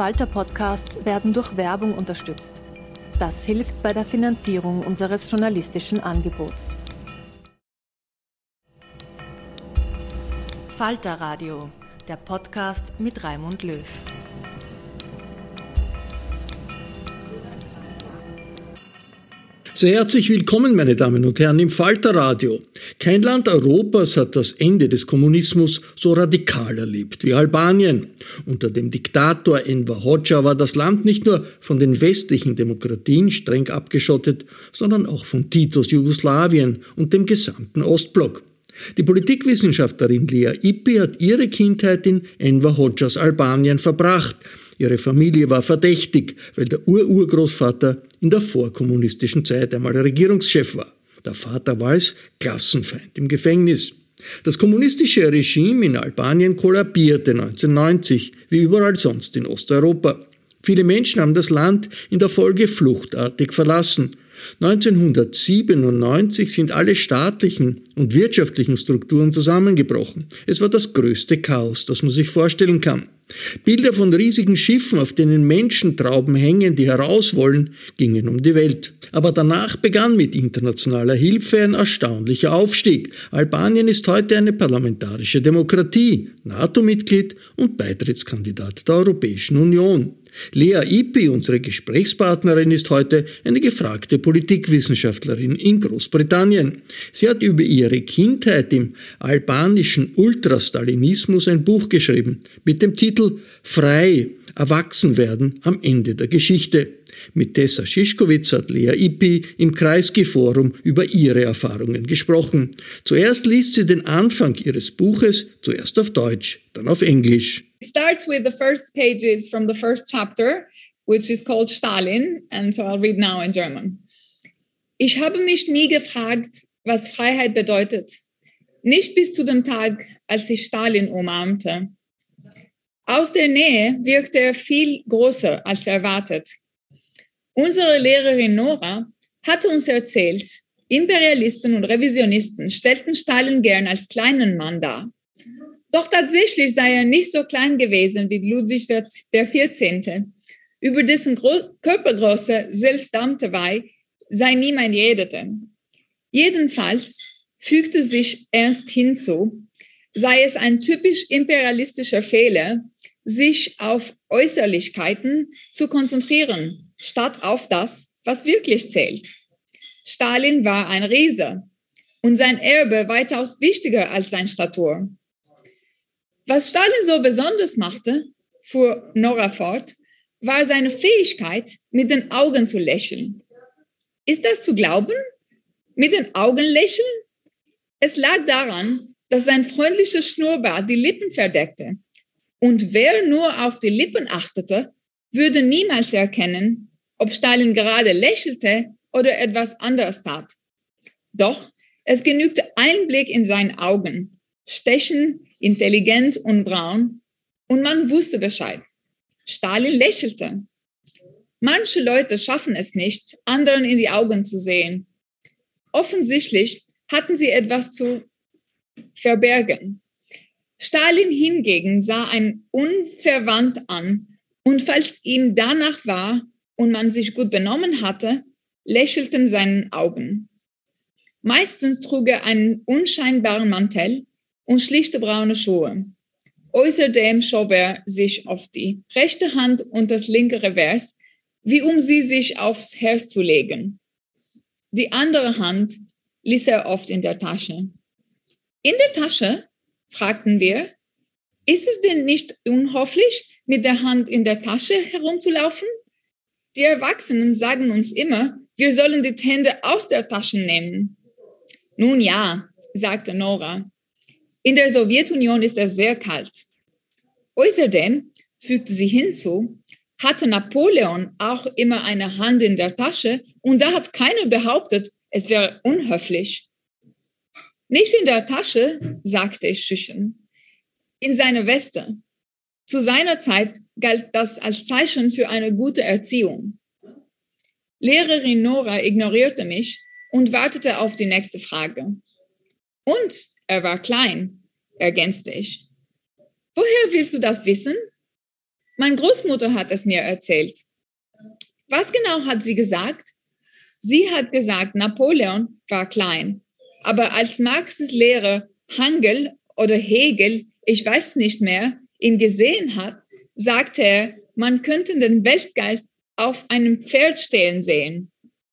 Falter-Podcasts werden durch Werbung unterstützt. Das hilft bei der Finanzierung unseres journalistischen Angebots. Falter Radio, der Podcast mit Raimund Löw. Sehr herzlich willkommen, meine Damen und Herren, im Falter Radio. Kein Land Europas hat das Ende des Kommunismus so radikal erlebt wie Albanien. Unter dem Diktator Enver Hoxha war das Land nicht nur von den westlichen Demokratien streng abgeschottet, sondern auch von Titos Jugoslawien und dem gesamten Ostblock. Die Politikwissenschaftlerin Lea Ypi hat ihre Kindheit in Enver Hoxhas Albanien verbracht. Ihre Familie war verdächtig, weil der Urgroßvater in der vorkommunistischen Zeit einmal Regierungschef war. Der Vater war als Klassenfeind im Gefängnis. Das kommunistische Regime in Albanien kollabierte 1990, wie überall sonst in Osteuropa. Viele Menschen haben das Land in der Folge fluchtartig verlassen. 1997 sind alle staatlichen und wirtschaftlichen Strukturen zusammengebrochen. Es war das größte Chaos, das man sich vorstellen kann. Bilder von riesigen Schiffen, auf denen Menschentrauben hängen, die heraus wollen, gingen um die Welt. Aber danach begann mit internationaler Hilfe ein erstaunlicher Aufstieg. Albanien ist heute eine parlamentarische Demokratie, NATO-Mitglied und Beitrittskandidat der Europäischen Union. Lea Ypi, unsere Gesprächspartnerin, ist heute eine gefragte Politikwissenschaftlerin in Großbritannien. Sie hat über ihre Kindheit im albanischen Ultrastalinismus ein Buch geschrieben mit dem Titel »Frei, Erwachsenwerden am Ende der Geschichte«. Mit Tessa Szyszkowitz hat Lea Ypi im Kreisky-Forum über ihre Erfahrungen gesprochen. Zuerst liest sie den Anfang ihres Buches, zuerst auf Deutsch, dann auf Englisch. It starts with the first pages from the first chapter, which is called Stalin, and so I'll read now in German. Ich habe mich nie gefragt, was Freiheit bedeutet. Nicht bis zu dem Tag, als ich Stalin umarmte. Aus der Nähe wirkte er viel größer als erwartet. Unsere Lehrerin Nora hatte uns erzählt, Imperialisten und Revisionisten stellten Stalin gern als kleinen Mann dar. Doch tatsächlich sei er nicht so klein gewesen wie Ludwig XIV., über dessen Körpergröße selbst Damtewey sei niemand redete. Jedenfalls fügte sich Ernst hinzu, sei es ein typisch imperialistischer Fehler, sich auf Äußerlichkeiten zu konzentrieren, statt auf das, was wirklich zählt. Stalin war ein Riese und sein Erbe weitaus wichtiger als seine Statur. Was Stalin so besonders machte, fuhr Nora fort, war seine Fähigkeit, mit den Augen zu lächeln. Ist das zu glauben? Mit den Augen lächeln? Es lag daran, dass sein freundlicher Schnurrbart die Lippen verdeckte. Und wer nur auf die Lippen achtete, würde niemals erkennen, ob Stalin gerade lächelte oder etwas anderes tat. Doch es genügte ein Blick in seine Augen, stechen, intelligent und braun, und man wusste Bescheid. Stalin lächelte. Manche Leute schaffen es nicht, anderen in die Augen zu sehen. Offensichtlich hatten sie etwas zu verbergen. Stalin hingegen sah einen unverwandt an, und falls ihm danach war und man sich gut benommen hatte, lächelten seine Augen. Meistens trug er einen unscheinbaren Mantel und schlichte braune Schuhe. Außerdem schob er sich auf die rechte Hand und das linke Revers, wie um sie sich aufs Herz zu legen. Die andere Hand ließ er oft in der Tasche. In der Tasche? Fragten wir. Ist es denn nicht unhöflich, mit der Hand in der Tasche herumzulaufen? Die Erwachsenen sagen uns immer, wir sollen die Hände aus der Tasche nehmen. Nun ja, sagte Nora. In der Sowjetunion ist es sehr kalt. Außerdem, fügte sie hinzu, hatte Napoleon auch immer eine Hand in der Tasche und da hat keiner behauptet, es wäre unhöflich. Nicht in der Tasche, sagte ich schüchtern, in seiner Weste. Zu seiner Zeit galt das als Zeichen für eine gute Erziehung. Lehrerin Nora ignorierte mich und wartete auf die nächste Frage. Und er war klein, ergänzte ich. Woher willst du das wissen? Meine Großmutter hat es mir erzählt. Was genau hat sie gesagt? Sie hat gesagt, Napoleon war klein. Aber als Marxes Lehrer Hangel oder Hegel, ich weiß nicht mehr, ihn gesehen hat, sagte er, man könnte den Weltgeist auf einem Pferd stehen sehen.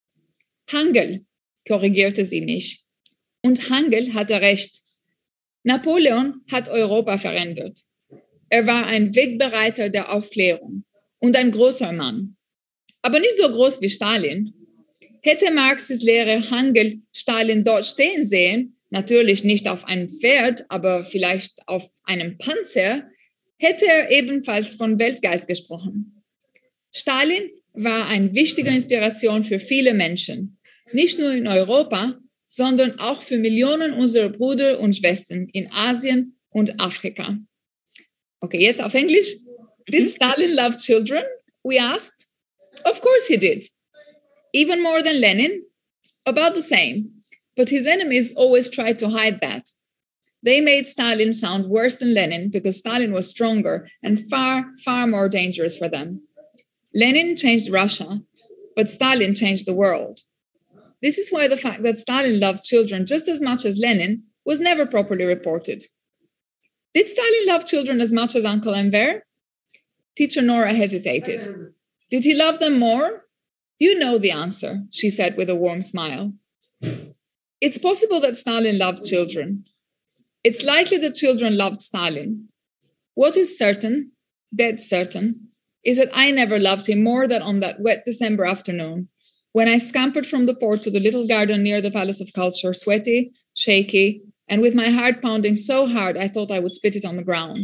Hangel, korrigierte sie mich. Und Hangel hatte recht. Napoleon hat Europa verändert. Er war ein Wegbereiter der Aufklärung und ein großer Mann. Aber nicht so groß wie Stalin. Hätte Marxes Lehrer Hangel Stalin dort stehen sehen, natürlich nicht auf einem Pferd, aber vielleicht auf einem Panzer, hätte er ebenfalls von Weltgeist gesprochen. Stalin war eine wichtige Inspiration für viele Menschen, nicht nur in Europa, sondern auch für Millionen unserer Brüder und Schwestern in Asien und Afrika. Okay, jetzt auf Englisch. Did Stalin love children? We asked. Of course he did. Even more than Lenin? About the same. But his enemies always tried to hide that. They made Stalin sound worse than Lenin because Stalin was stronger and far, far more dangerous for them. Lenin changed Russia, but Stalin changed the world. This is why the fact that Stalin loved children just as much as Lenin was never properly reported. Did Stalin love children as much as Uncle Enver? Teacher Nora hesitated. Did he love them more? You know the answer, she said with a warm smile. It's possible that Stalin loved children. It's likely that children loved Stalin. What is certain, dead certain, is that I never loved him more than on that wet December afternoon, when I scampered from the port to the little garden near the Palace of Culture, sweaty, shaky, and with my heart pounding so hard I thought I would spit it on the ground.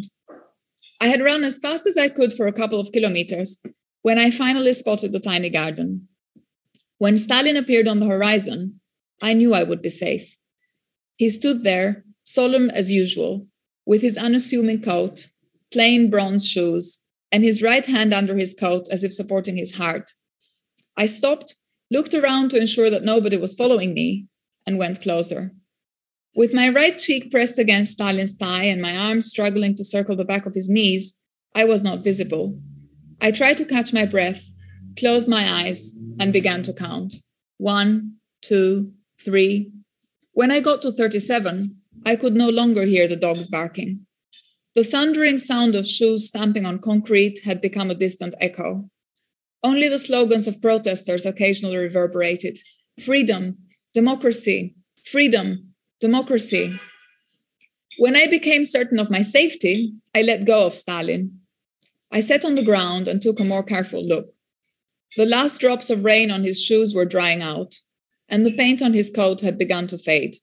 I had run as fast as I could for a couple of kilometers when I finally spotted the tiny garden. When Stalin appeared on the horizon, I knew I would be safe. He stood there, solemn as usual, with his unassuming coat, plain bronze shoes, and his right hand under his coat as if supporting his heart. I stopped, looked around to ensure that nobody was following me, and went closer. With my right cheek pressed against Stalin's thigh and my arms struggling to circle the back of his knees, I was not visible. I tried to catch my breath, closed my eyes, and began to count. 1, 2, 3. When I got to 37, I could no longer hear the dogs barking. The thundering sound of shoes stamping on concrete had become a distant echo. Only the slogans of protesters occasionally reverberated. Freedom, democracy, freedom, democracy. When I became certain of my safety, I let go of Stalin. I sat on the ground and took a more careful look. The last drops of rain on his shoes were drying out, and the paint on his coat had begun to fade.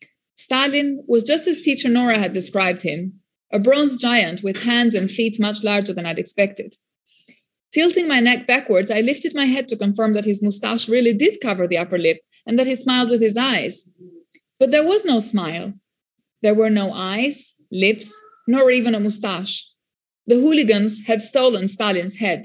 Stalin was just as teacher Nora had described him, a bronze giant with hands and feet much larger than I'd expected. Tilting my neck backwards, I lifted my head to confirm that his mustache really did cover the upper lip and that he smiled with his eyes. But there was no smile. There were no eyes, lips, nor even a mustache. The hooligans had stolen Stalin's head.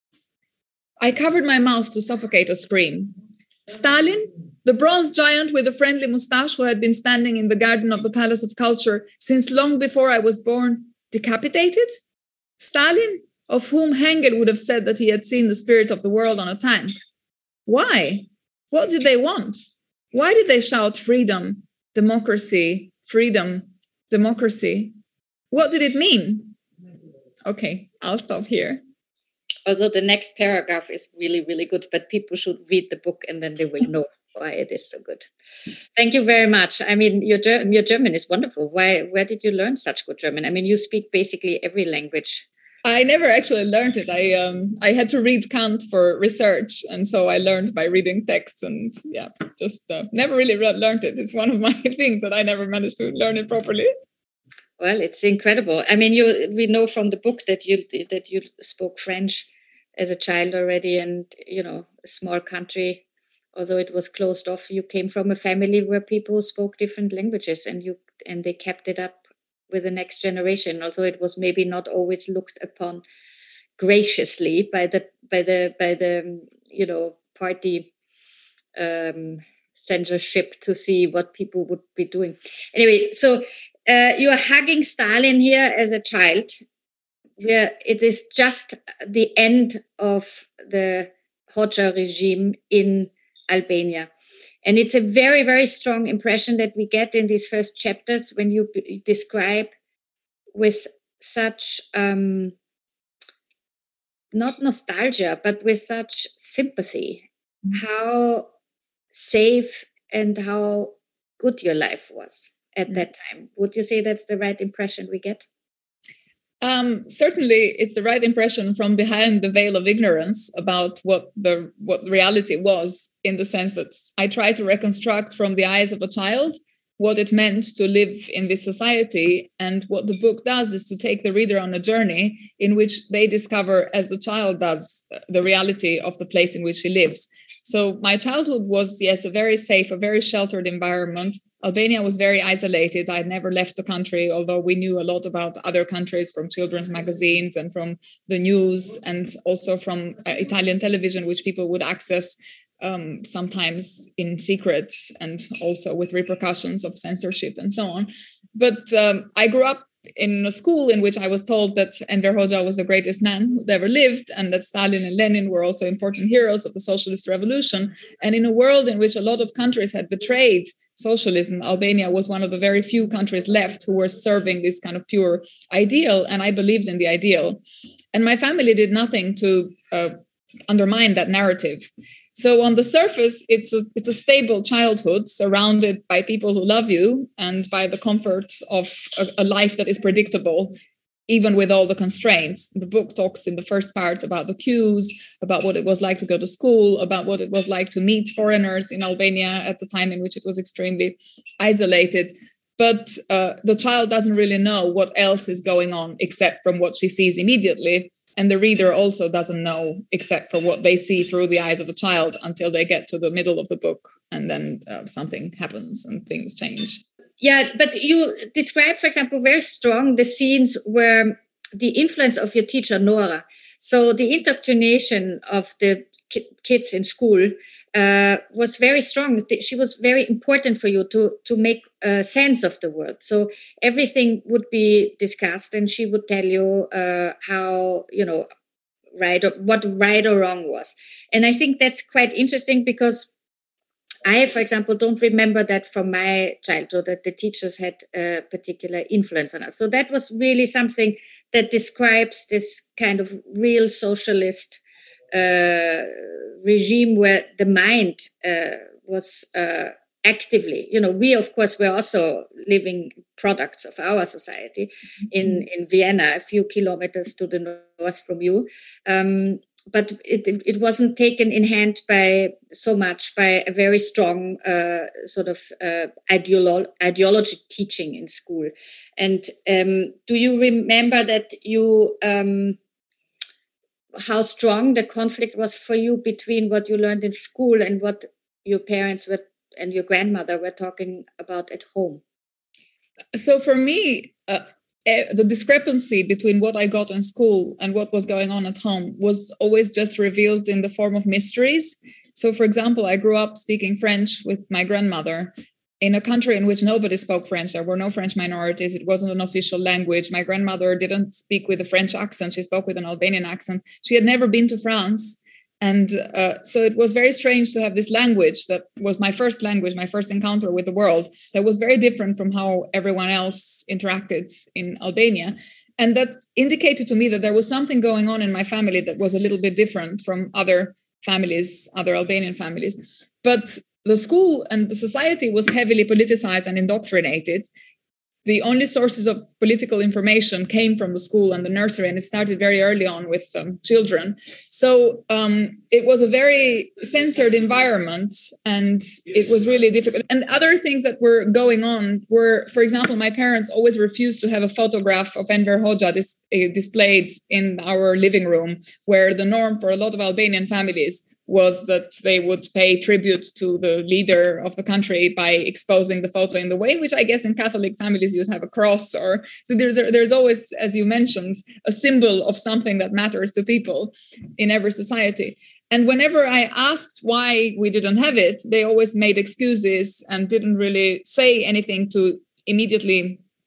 I covered my mouth to suffocate a scream. Stalin, the bronze giant with a friendly mustache who had been standing in the garden of the Palace of Culture since long before I was born, decapitated? Stalin, of whom Hengel would have said that he had seen the spirit of the world on a tank. Why? What did they want? Why did they shout freedom, democracy, freedom, democracy? What did it mean? Okay, I'll stop here. Although the next paragraph is really, really good, but people should read the book and then they will know why it is so good. Thank you very much. I mean, your German is wonderful. Where did you learn such good German? I mean, you speak basically every language. I never actually learned it. I had to read Kant for research, and so I learned by reading texts, and just never really learned it. It's one of my things that I never managed to learn it properly. Well, it's incredible. I mean, we know from the book that you spoke French as a child already, and a small country, although it was closed off, you came from a family where people spoke different languages, and they kept it up with the next generation, although it was maybe not always looked upon graciously by the party censorship to see what people would be doing. Anyway, so you are hugging Stalin here as a child. it is just the end of the Hoxha regime in Albania. And it's a very, very strong impression that we get in these first chapters when you describe with such, not nostalgia, but with such sympathy, how safe and how good your life was at that time. Would you say that's the right impression we get? Certainly, it's the right impression from behind the veil of ignorance about what reality was, in the sense that I try to reconstruct from the eyes of a child what it meant to live in this society. And what the book does is to take the reader on a journey in which they discover, as the child does, the reality of the place in which he lives. So my childhood was, yes, a very safe, a very sheltered environment. Albania was very isolated. I never left the country, although we knew a lot about other countries from children's magazines and from the news, and also from Italian television, which people would access sometimes in secret and also with repercussions of censorship and so on. But I grew up in a school in which I was told that Enver Hoxha was the greatest man who'd ever lived, and that Stalin and Lenin were also important heroes of the socialist revolution. And in a world in which a lot of countries had betrayed socialism, Albania was one of the very few countries left who were serving this kind of pure ideal, and I believed in the ideal. And my family did nothing to undermine that narrative. So on the surface, it's a stable childhood surrounded by people who love you and by the comfort of a life that is predictable, even with all the constraints. The book talks in the first part about the queues, about what it was like to go to school, about what it was like to meet foreigners in Albania at the time in which it was extremely isolated. But the child doesn't really know what else is going on except from what she sees immediately. And the reader also doesn't know except for what they see through the eyes of the child until they get to the middle of the book. And then something happens and things change. Yeah, but you describe, for example, very strong the scenes where the influence of your teacher, Nora. So the indoctrination of the kids in school was very strong. She was very important for you to make sense of the world. So everything would be discussed, and she would tell you how, what right or wrong was. And I think that's quite interesting because I, for example, don't remember that from my childhood that the teachers had a particular influence on us. So that was really something that describes this kind of real socialist regime where the mind was actively, we, of course, were also living products of our society in Vienna, a few kilometers to the north from you. But it wasn't taken in hand by a very strong ideology teaching in school. And do you remember that you how strong the conflict was for you between what you learned in school and what your parents were and your grandmother were talking about at home? So for me, the discrepancy between what I got in school and what was going on at home was always just revealed in the form of mysteries. So, for example, I grew up speaking French with my grandmother in a country in which nobody spoke French. There were no French minorities. It wasn't an official language. My grandmother didn't speak with a French accent. She spoke with an Albanian accent. She had never been to France. And so it was very strange to have this language that was my first language, my first encounter with the world, that was very different from how everyone else interacted in Albania. And that indicated to me that there was something going on in my family that was a little bit different from other families, other Albanian families. But the school and the society was heavily politicized and indoctrinated. The only sources of political information came from the school and the nursery, and it started very early on with children. So it was a very censored environment, and it was really difficult. And other things that were going on were, for example, my parents always refused to have a photograph of Enver Hoxha displayed in our living room, where the norm for a lot of Albanian families was that they would pay tribute to the leader of the country by exposing the photo in the way in which I guess in Catholic families you'd have a cross, or so there's always, as you mentioned, a symbol of something that matters to people in every society. And whenever I asked why we didn't have it, they always made excuses and didn't really say anything to immediately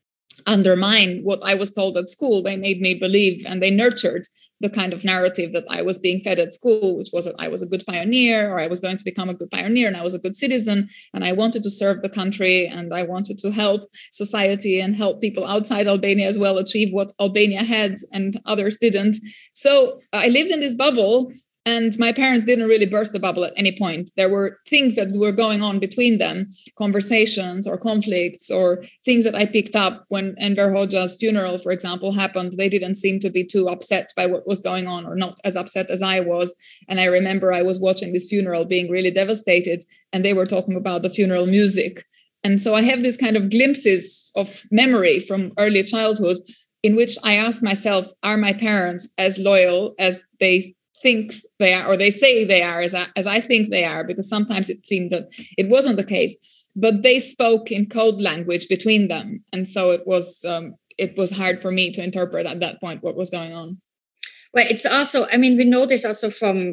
undermine what I was told at school. They made me believe, and they nurtured the kind of narrative that I was being fed at school, which was that I was a good pioneer, or I was going to become a good pioneer, and I was a good citizen, and I wanted to serve the country, and I wanted to help society and help people outside Albania as well achieve what Albania had and others didn't. So I lived in this bubble. And my parents didn't really burst the bubble at any point. There were things that were going on between them, conversations or conflicts or things that I picked up when Enver Hoxha's funeral, for example, happened. They didn't seem to be too upset by what was going on, or not as upset as I was. And I remember I was watching this funeral being really devastated, and they were talking about the funeral music. And so I have these kind of glimpses of memory from early childhood in which I asked myself, are my parents as loyal as they think they are, or they say they are, as I think they are? Because sometimes it seemed that it wasn't the case, but they spoke in code language between them, and so it was hard for me to interpret at that point what was going on. Well, it's also, I mean, we know this also from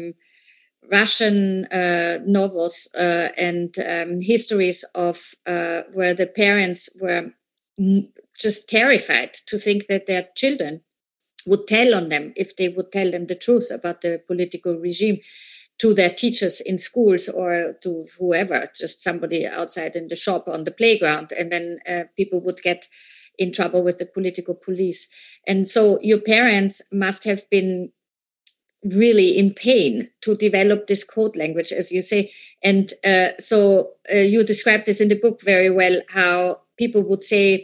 Russian novels and histories of where the parents were just terrified to think that their children would tell on them if they would tell them the truth about the political regime to their teachers in schools or to whoever, just somebody outside in the shop on the playground. And then people would get in trouble with the political police. And so your parents must have been really in pain to develop this code language, as you say. And so you described this in the book very well, how people would say,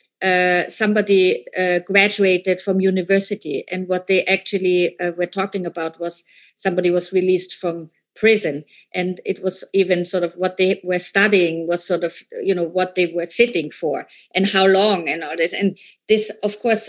somebody graduated from university, and what they actually were talking about was somebody was released from prison, and it was even sort of what they were studying was sort of, you know, what they were sitting for and how long and all this. And this, of course,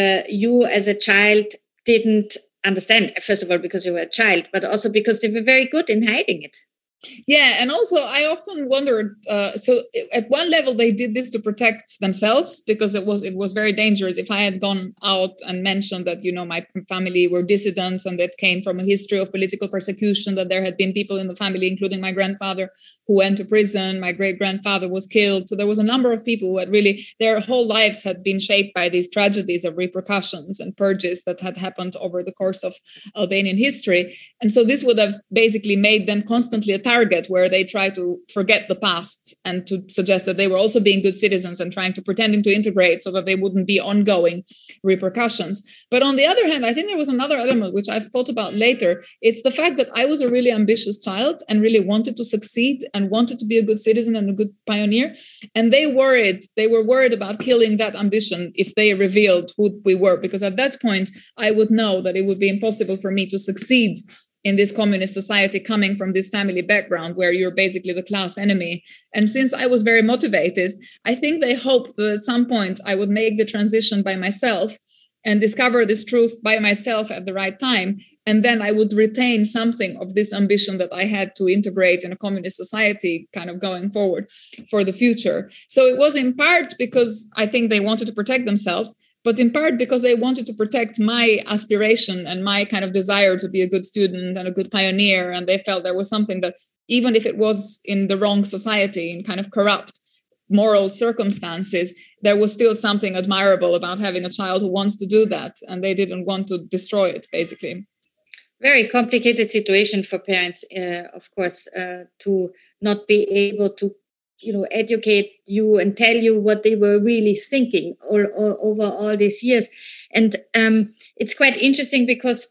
you as a child didn't understand, first of all, because you were a child, but also because they were very good in hiding it. Yeah, and also I often wondered, so at one level they did this to protect themselves, because it was very dangerous if I had gone out and mentioned that, you know, my family were dissidents and that came from a history of political persecution, that there had been people in the family, including my grandfather, who went to prison. My great-grandfather was killed. So there was a number of people who had really, their whole lives had been shaped by these tragedies of repercussions and purges that had happened over the course of Albanian history. And so this would have basically made them constantly a target where they try to forget the past and to suggest that they were also being good citizens and pretending to integrate so that they wouldn't be ongoing repercussions. But on the other hand, I think there was another element which I've thought about later. It's the fact that I was a really ambitious child and really wanted to succeed and wanted to be a good citizen and a good pioneer. And they were worried about killing that ambition if they revealed who we were, because at that point, I would know that it would be impossible for me to succeed in this communist society coming from this family background where you're basically the class enemy. And since I was very motivated, I think they hoped that at some point I would make the transition by myself and discover this truth by myself at the right time. And then I would retain something of this ambition that I had to integrate in a communist society kind of going forward for the future. So it was in part because I think they wanted to protect themselves, but in part because they wanted to protect my aspiration and my kind of desire to be a good student and a good pioneer. And they felt there was something that, even if it was in the wrong society, in kind of corrupt moral circumstances, there was still something admirable about having a child who wants to do that. And they didn't want to destroy it, basically. Very complicated situation for parents, of course, to not be able to, you know, educate you and tell you what they were really thinking over all these years. And it's quite interesting because,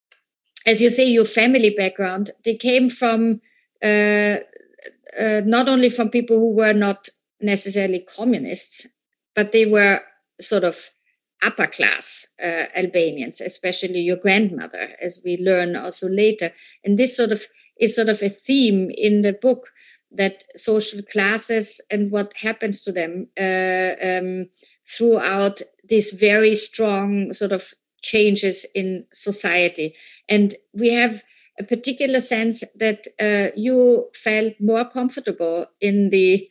as you say, your family background, they came from not only from people who were not necessarily communists, but they were sort of upper class Albanians, especially your grandmother, as we learn also later. And this is sort of a theme in the book, that social classes and what happens to them throughout these very strong sort of changes in society. And we have a particular sense that you felt more comfortable in the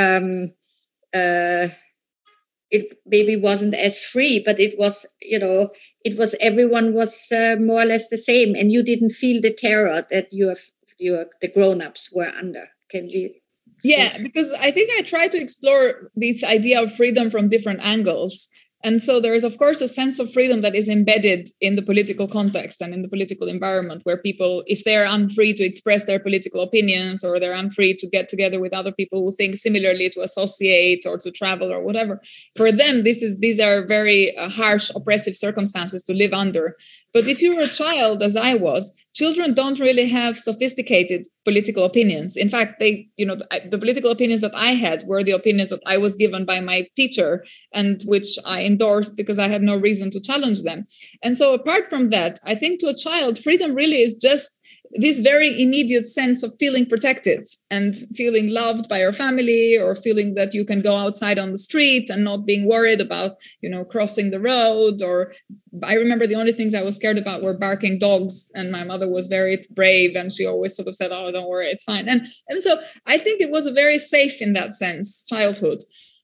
it maybe wasn't as free, but it was, you know, it was, everyone was more or less the same, and you didn't feel the terror that the grown-ups were under. Can we Yeah, because I think I try to explore this idea of freedom from different angles. And so there is, of course, a sense of freedom that is embedded in the political context and in the political environment, where people, if they're unfree to express their political opinions, or they're unfree to get together with other people who think similarly, to associate or to travel or whatever, for them, these are very harsh, oppressive circumstances to live under. But if you're a child, as I was, children don't really have sophisticated political opinions. In fact, the political opinions that I had were the opinions that I was given by my teacher, and which I endorsed because I had no reason to challenge them. And so apart from that, I think to a child, freedom really is just this very immediate sense of feeling protected and feeling loved by your family, or feeling that you can go outside on the street and not being worried about, crossing the road. Or I remember the only things I was scared about were barking dogs, and my mother was very brave, and she always sort of said, "Oh, don't worry, it's fine." And so I think it was a very safe, in that sense, childhood.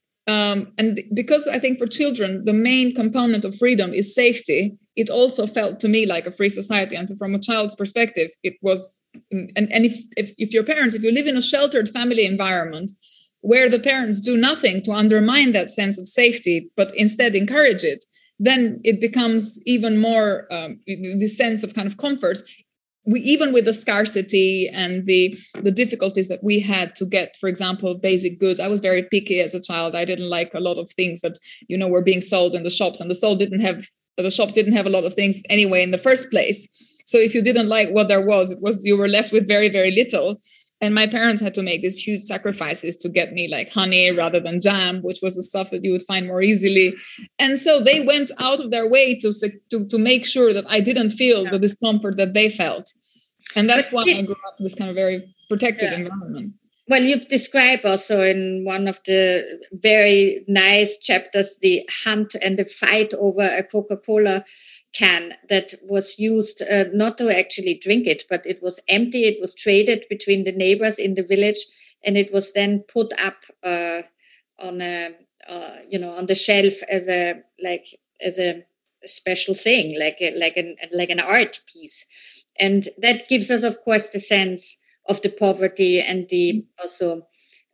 And because I think for children, the main component of freedom is safety, it also felt to me like a free society. And from a child's perspective, it was, and if your parents, if you live in a sheltered family environment where the parents do nothing to undermine that sense of safety, but instead encourage it, then it becomes even more this sense of kind of comfort. Even with the scarcity and the difficulties that we had to get, for example, basic goods. I was very picky as a child. I didn't like a lot of things that, were being sold in the shops, and the shops didn't have a lot of things anyway in the first place. So if you didn't like what there was, you were left with very, very little. And my parents had to make these huge sacrifices to get me like honey rather than jam, which was the stuff that you would find more easily. And so they went out of their way to make sure that I didn't feel the discomfort that they felt. And that's why I grew up in this kind of very protected environment. Well, you describe also in one of the very nice chapters the hunt and the fight over a Coca-Cola can that was used not to actually drink it, but it was empty. It was traded between the neighbors in the village, and it was then put up on the shelf as a special thing, like an art piece. And that gives us, of course, the sense of the poverty and the also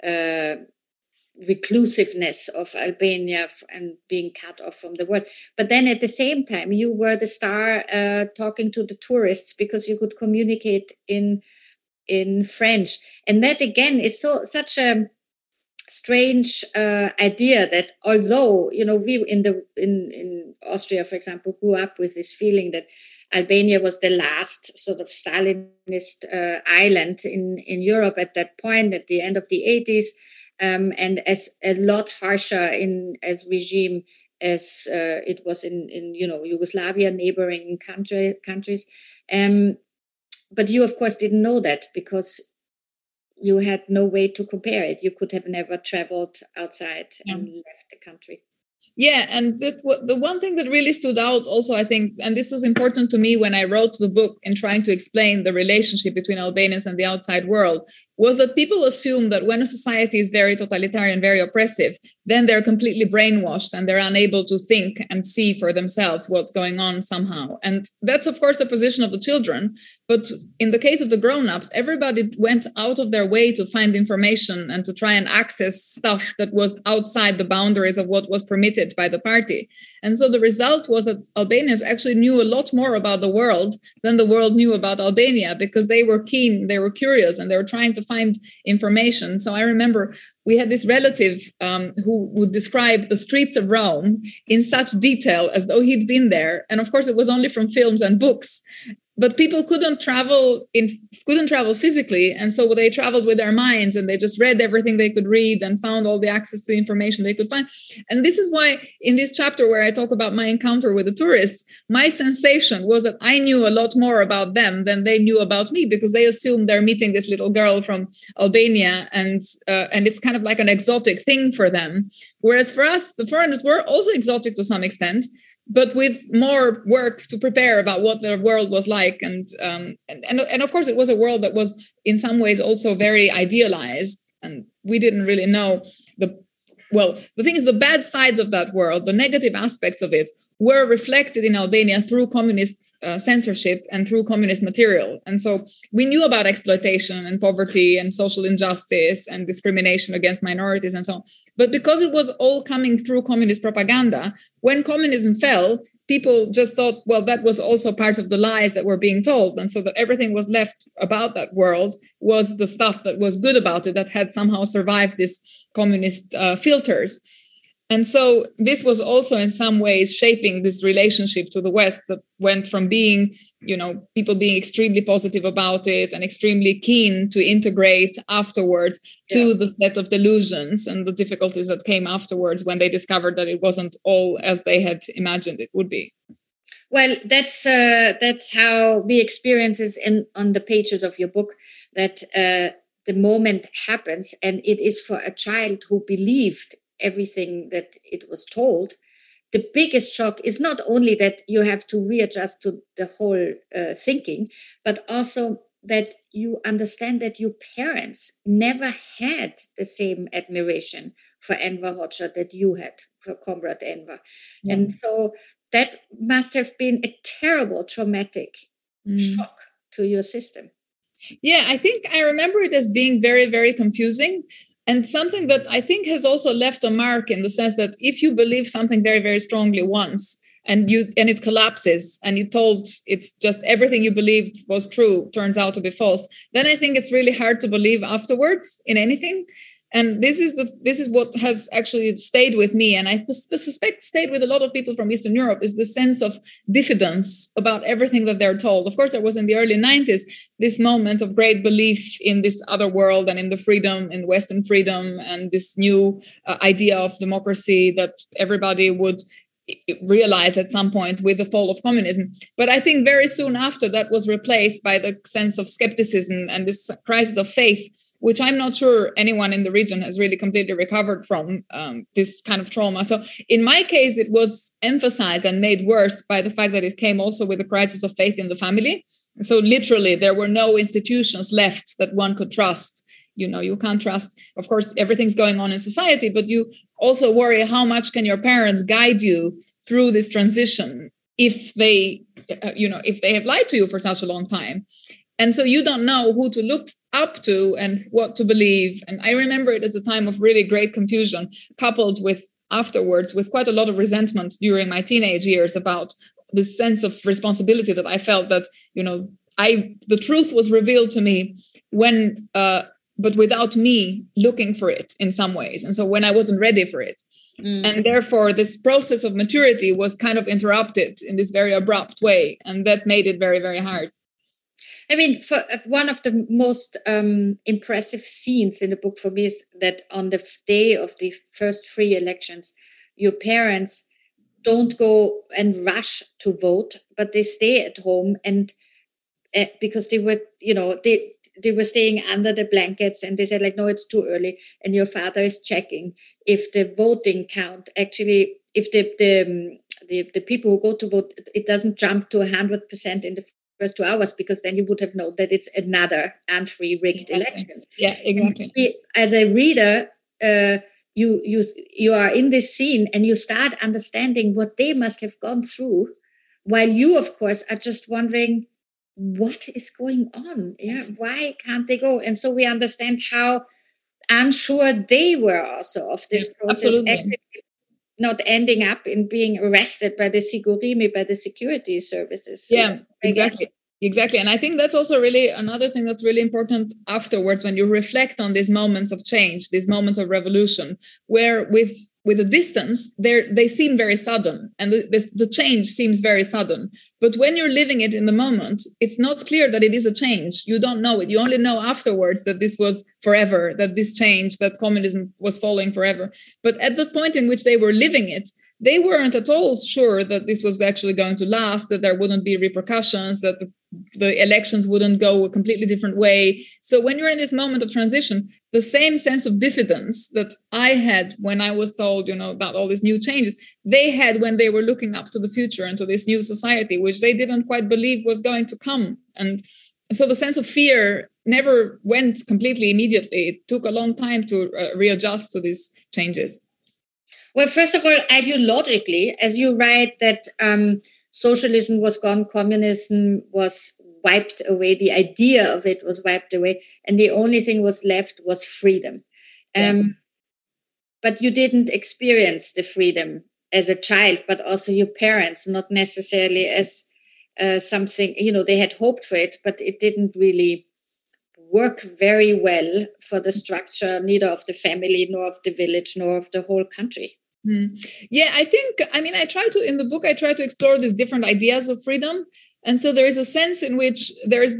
reclusiveness of Albania and being cut off from the world. But then at the same time, you were the star talking to the tourists because you could communicate in French. And that, again, is such a strange idea that although, we in Austria, for example, grew up with this feeling that Albania was the last sort of Stalinist island in Europe at that point, at the end of the 80s, and as a lot harsher as regime as it was in Yugoslavia, neighboring countries. But you, of course, didn't know that because you had no way to compare it. You could have never traveled outside and left the country. Yeah, and the one thing that really stood out also, I think, and this was important to me when I wrote the book in trying to explain the relationship between Albanians and the outside world, was that people assume that when a society is very totalitarian, very oppressive, then they're completely brainwashed and they're unable to think and see for themselves what's going on somehow. And that's, of course, the position of the children. But in the case of the grown-ups, everybody went out of their way to find information and to try and access stuff that was outside the boundaries of what was permitted by the party. And so the result was that Albanians actually knew a lot more about the world than the world knew about Albania, because they were keen, they were curious, and they were trying to find information. So I remember we had this relative who would describe the streets of Rome in such detail as though he'd been there. And of course, it was only from films and books. But people couldn't travel physically. And so they traveled with their minds, and they just read everything they could read and found all the access to information they could find. And this is why in this chapter where I talk about my encounter with the tourists, my sensation was that I knew a lot more about them than they knew about me, because they assumed they're meeting this little girl from Albania, and it's kind of like an exotic thing for them. Whereas for us, the foreigners were also exotic to some extent, but with more work to prepare about what the world was like. And of course, it was a world that was in some ways also very idealized. And we didn't really know the thing is, the bad sides of that world, the negative aspects of it, were reflected in Albania through communist censorship and through communist material. And so we knew about exploitation and poverty and social injustice and discrimination against minorities and so on. But because it was all coming through communist propaganda, when communism fell, people just thought, well, that was also part of the lies that were being told. And so that everything was left about that world was the stuff that was good about it, that had somehow survived these communist filters. And so this was also in some ways shaping this relationship to the West that went from being, people being extremely positive about it and extremely keen to integrate afterwards to the set of delusions and the difficulties that came afterwards when they discovered that it wasn't all as they had imagined it would be. Well, that's how we experience it on the pages of your book, that the moment happens, and it is for a child who believed everything that it was told. The biggest shock is not only that you have to readjust to the whole thinking, but also that you understand that your parents never had the same admiration for Enver Hoxha that you had for Comrade Enver. Yeah. And so that must have been a terrible traumatic shock to your system. Yeah, I think I remember it as being very, very confusing. And something that I think has also left a mark in the sense that if you believe something very, very strongly once and it collapses and you're told it's just everything you believed was true turns out to be false, then I think it's really hard to believe afterwards in anything. And this is what has actually stayed with me, and I suspect stayed with a lot of people from Eastern Europe, is the sense of diffidence about everything that they're told. Of course, there was in the early 90s this moment of great belief in this other world and in the freedom, in Western freedom, and this new idea of democracy that everybody would realize at some point with the fall of communism. But I think very soon after that was replaced by the sense of skepticism and this crisis of faith, which I'm not sure anyone in the region has really completely recovered from, this kind of trauma. So in my case, it was emphasized and made worse by the fact that it came also with a crisis of faith in the family. So literally, there were no institutions left that one could trust. You can't trust, of course, everything's going on in society, but you also worry how much can your parents guide you through this transition if they have lied to you for such a long time. And so you don't know who to look up to and what to believe. And I remember it as a time of really great confusion, coupled with afterwards with quite a lot of resentment during my teenage years about this sense of responsibility that I felt that, the truth was revealed to me when, but without me looking for it in some ways. And so when I wasn't ready for it. And therefore, this process of maturity was kind of interrupted in this very abrupt way. And that made it very, very hard. I mean, for one of the most impressive scenes in the book for me is that on the day of the first free elections, your parents don't go and rush to vote, but they stay at home, and because they were, they were staying under the blankets, and they said, like, no, it's too early. And your father is checking if the voting count actually, if the people who go to vote, it doesn't jump to 100% in the first 2 hours, because then you would have known that it's another unfree rigged elections. Yeah, exactly. As a reader, you are in this scene and you start understanding what they must have gone through, while you, of course, are just wondering what is going on. Yeah, why can't they go? And so we understand how unsure they were also of this process. Actually, not ending up in being arrested by the Sigurimi, by the security services. So yeah, exactly. And I think that's also really another thing that's really important afterwards, when you reflect on these moments of change, these moments of revolution, where with a distance, they seem very sudden, and the change seems very sudden. But when you're living it in the moment, it's not clear that it is a change. You don't know it. You only know afterwards that this was forever, that this change, that communism was falling forever. But at the point in which they were living it, they weren't at all sure that this was actually going to last, that there wouldn't be repercussions, that the elections wouldn't go a completely different way. So when you're in this moment of transition, the same sense of diffidence that I had when I was told, about all these new changes, they had when they were looking up to the future and to this new society, which they didn't quite believe was going to come. And so the sense of fear never went completely immediately. It took a long time to readjust to these changes. Well, first of all, ideologically, as you write that socialism was gone, communism was wiped away, the idea of it was wiped away, and the only thing was left was freedom. But you didn't experience the freedom as a child, but also your parents, not necessarily as something, they had hoped for it, but it didn't really work very well for the structure, neither of the family, nor of the village, nor of the whole country. Yeah, I try to explore these different ideas of freedom. And so there is a sense in which there's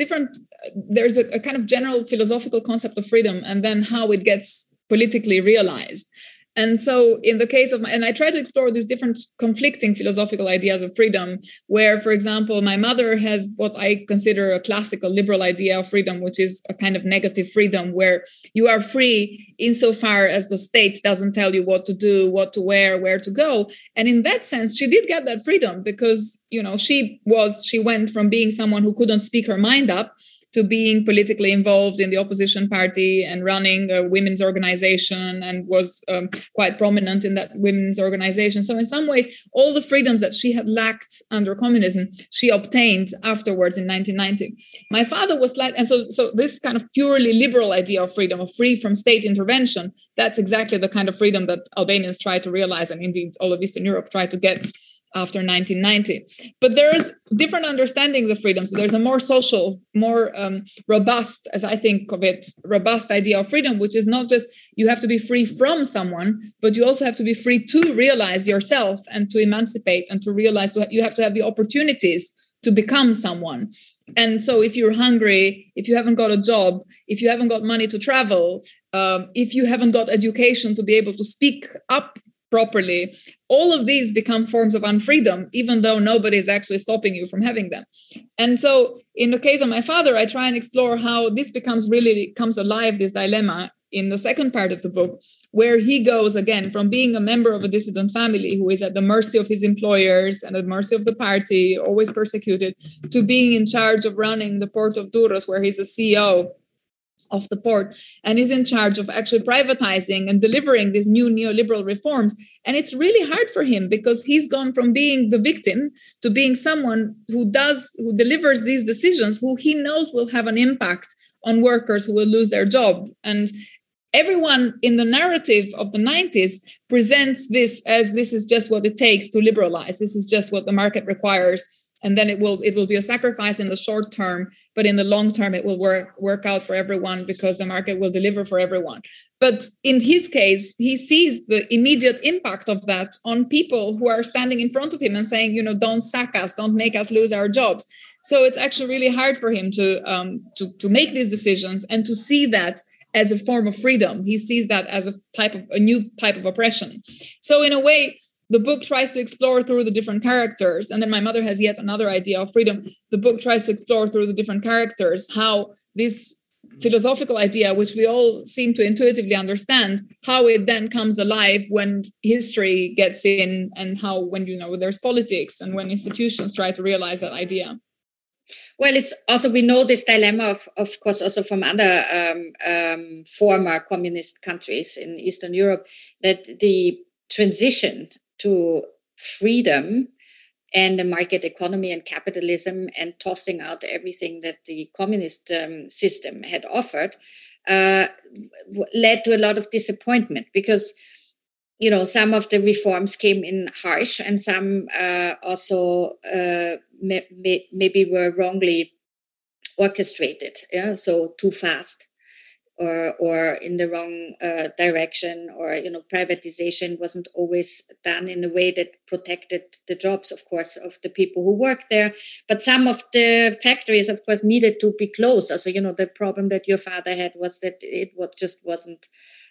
a kind of general philosophical concept of freedom, and then how it gets politically realized. And so in the case of and I try to explore these different conflicting philosophical ideas of freedom, where, for example, my mother has what I consider a classical liberal idea of freedom, which is a kind of negative freedom, where you are free insofar as the state doesn't tell you what to do, what to wear, where to go. And in that sense, she did get that freedom because, she went from being someone who couldn't speak her mind up to being politically involved in the opposition party and running a women's organization, and was quite prominent in that women's organization. So in some ways, all the freedoms that she had lacked under communism, she obtained afterwards in 1990. My father was so this kind of purely liberal idea of freedom, of free from state intervention, that's exactly the kind of freedom that Albanians try to realize, and indeed all of Eastern Europe try to get after 1990. But there's different understandings of freedom. So there's a more social, more robust, as I think of it, robust idea of freedom, which is not just you have to be free from someone, but you also have to be free to realize yourself and to emancipate and to realize you have to have the opportunities to become someone. And so if you're hungry, if you haven't got a job, if you haven't got money to travel, if you haven't got education to be able to speak up properly, all of these become forms of unfreedom, even though nobody is actually stopping you from having them. And so in the case of my father, I try and explore how this comes alive, this dilemma, in the second part of the book, where he goes again from being a member of a dissident family who is at the mercy of his employers and at the mercy of the party, always persecuted, to being in charge of running the port of Durrës, where he's a CEO of the port, and is in charge of actually privatizing and delivering these new neoliberal reforms. And it's really hard for him because he's gone from being the victim to being someone who delivers these decisions, who he knows will have an impact on workers who will lose their job. And everyone in the narrative of the 90s presents this as this is just what it takes to liberalize. This is just what the market requires. And then it will be a sacrifice in the short term, but in the long term, it will work out for everyone because the market will deliver for everyone. But in his case, he sees the immediate impact of that on people who are standing in front of him and saying, don't sack us, don't make us lose our jobs. So it's actually really hard for him to make these decisions and to see that as a form of freedom. He sees that as a new type of oppression. So in a way, the book tries to explore through the different characters. And then my mother has yet another idea of freedom. The book tries to explore through the different characters how this philosophical idea, which we all seem to intuitively understand, how it then comes alive when history gets in, and how when there's politics and when institutions try to realize that idea. Well, it's also, we know this dilemma, of course, also from other former communist countries in Eastern Europe, that the transition to freedom and the market economy and capitalism and tossing out everything that the communist system had offered led to a lot of disappointment because, some of the reforms came in harsh and some also maybe were wrongly orchestrated. Yeah, so too fast. Or in the wrong direction, or privatization wasn't always done in a way that protected the jobs, of course, of the people who work there. But some of the factories, of course, needed to be closed. Also, the problem that your father had was that it just wasn't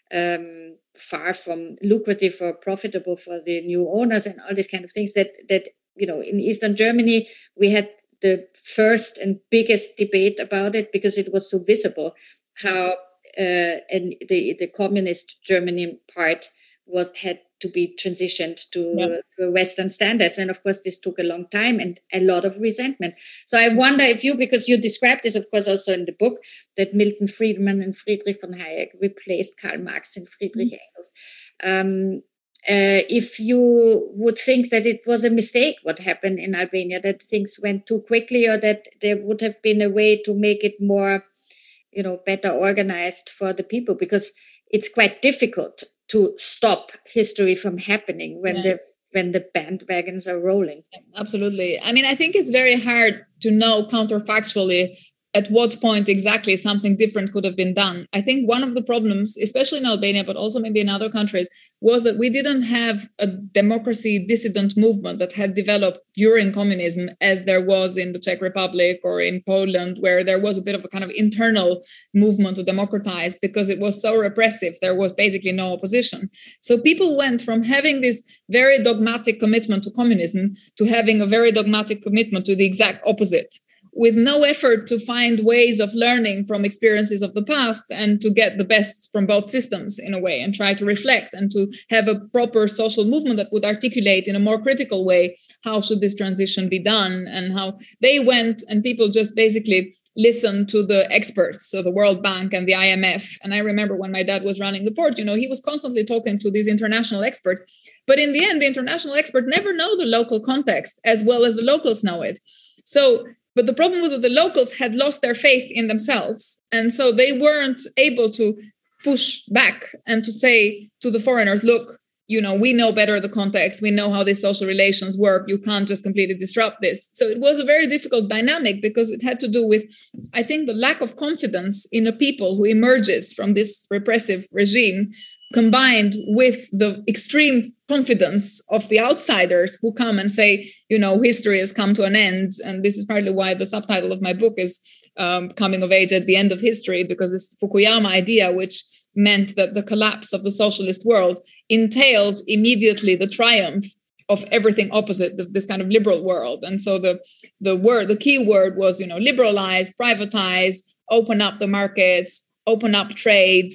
far from lucrative or profitable for the new owners and all these kind of things. That in Eastern Germany we had the first and biggest debate about it because it was so visible how. And the communist Germany part had to be transitioned to Western standards. And of course, this took a long time and a lot of resentment. So I wonder if because you described this, of course, also in the book, that Milton Friedman and Friedrich von Hayek replaced Karl Marx and Friedrich Engels. if you would think that it was a mistake what happened in Albania, that things went too quickly, or that there would have been a way to make it more, better organized for the people, because it's quite difficult to stop history from happening when the bandwagons are rolling. Absolutely. I mean, I think it's very hard to know counterfactually at what point exactly something different could have been done. I think one of the problems, especially in Albania, but also maybe in other countries, was that we didn't have a democracy dissident movement that had developed during communism, as there was in the Czech Republic or in Poland, where there was a bit of a kind of internal movement to democratize, because it was so repressive. There was basically no opposition. So people went from having this very dogmatic commitment to communism to having a very dogmatic commitment to the exact opposite, with no effort to find ways of learning from experiences of the past and to get the best from both systems in a way, and try to reflect and to have a proper social movement that would articulate in a more critical way how should this transition be done, and how they went and people just basically listened to the experts, so the World Bank and the IMF. And I remember when my dad was running the port, he was constantly talking to these international experts. But in the end, the international expert never know the local context as well as the locals know it. But the problem was that the locals had lost their faith in themselves. And so they weren't able to push back and to say to the foreigners, look, we know better the context. We know how these social relations work. You can't just completely disrupt this. So it was a very difficult dynamic, because it had to do with, I think, the lack of confidence in a people who emerges from this repressive regime, combined with the extreme confidence of the outsiders who come and say, history has come to an end. And this is partly why the subtitle of my book is Coming of Age at the End of History, because this Fukuyama idea, which meant that the collapse of the socialist world entailed immediately the triumph of everything opposite this kind of liberal world. And so the key word was, liberalize, privatize, open up the markets, open up trade,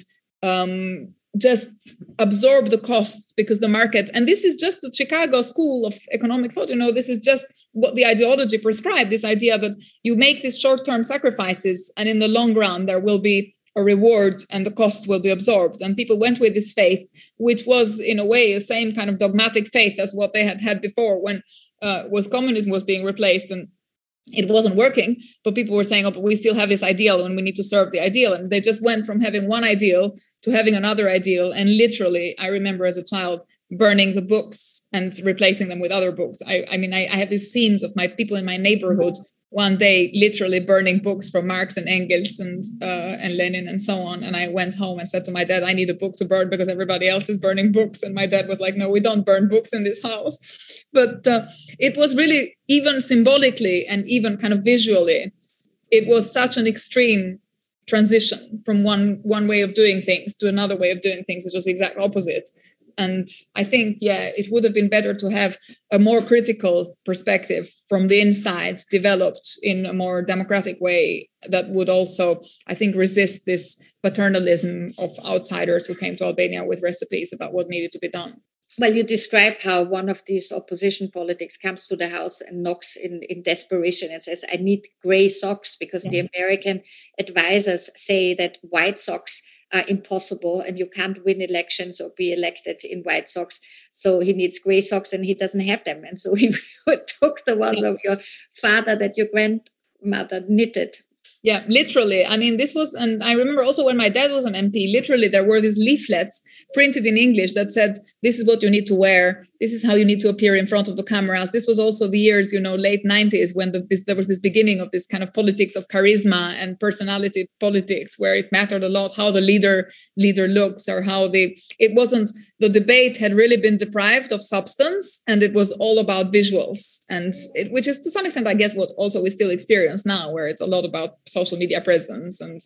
just absorb the costs, because the market, and this is just the Chicago School of Economic Thought, this is just what the ideology prescribed, this idea that you make these short-term sacrifices and in the long run there will be a reward and the costs will be absorbed. And people went with this faith, which was in a way the same kind of dogmatic faith as what they had before when communism was being replaced and it wasn't working, but people were saying, but we still have this ideal and we need to serve the ideal. And they just went from having one ideal to having another ideal. And literally, I remember as a child burning the books and replacing them with other books. I have these scenes of my people in my neighborhood one day literally burning books from Marx and Engels and Lenin and so on. And I went home and said to my dad, I need a book to burn because everybody else is burning books. And my dad was like, no, we don't burn books in this house. But it was really, even symbolically and even kind of visually, it was such an extreme transition from one way of doing things to another way of doing things, which was the exact opposite. And I think, it would have been better to have a more critical perspective from the inside developed in a more democratic way that would also, I think, resist this paternalism of outsiders who came to Albania with recipes about what needed to be done. Well, you describe how one of these opposition politics comes to the house and knocks in desperation and says, I need gray socks, because the American advisors say that white socks are impossible and you can't win elections or be elected in white socks. So he needs gray socks and he doesn't have them. And so he took the ones of your father that your grandmother knitted. Yeah, literally. I mean, this was, and I remember also when my dad was an MP, literally there were these leaflets printed in English that said, this is what you need to wear. This is how you need to appear in front of the cameras. This was also the years, late 90s when there was this beginning of this kind of politics of charisma and personality politics, where it mattered a lot how the leader looks, or how it wasn't, the debate had really been deprived of substance and it was all about visuals. And which is to some extent, I guess, what also we still experience now, where it's a lot about social media presence and,